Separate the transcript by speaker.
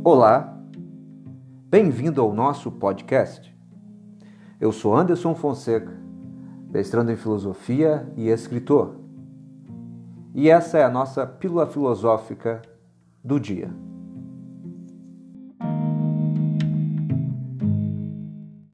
Speaker 1: Olá, bem-vindo ao nosso podcast. Eu sou Anderson Fonseca, mestrando em filosofia e escritor. E essa é a nossa pílula filosófica do dia.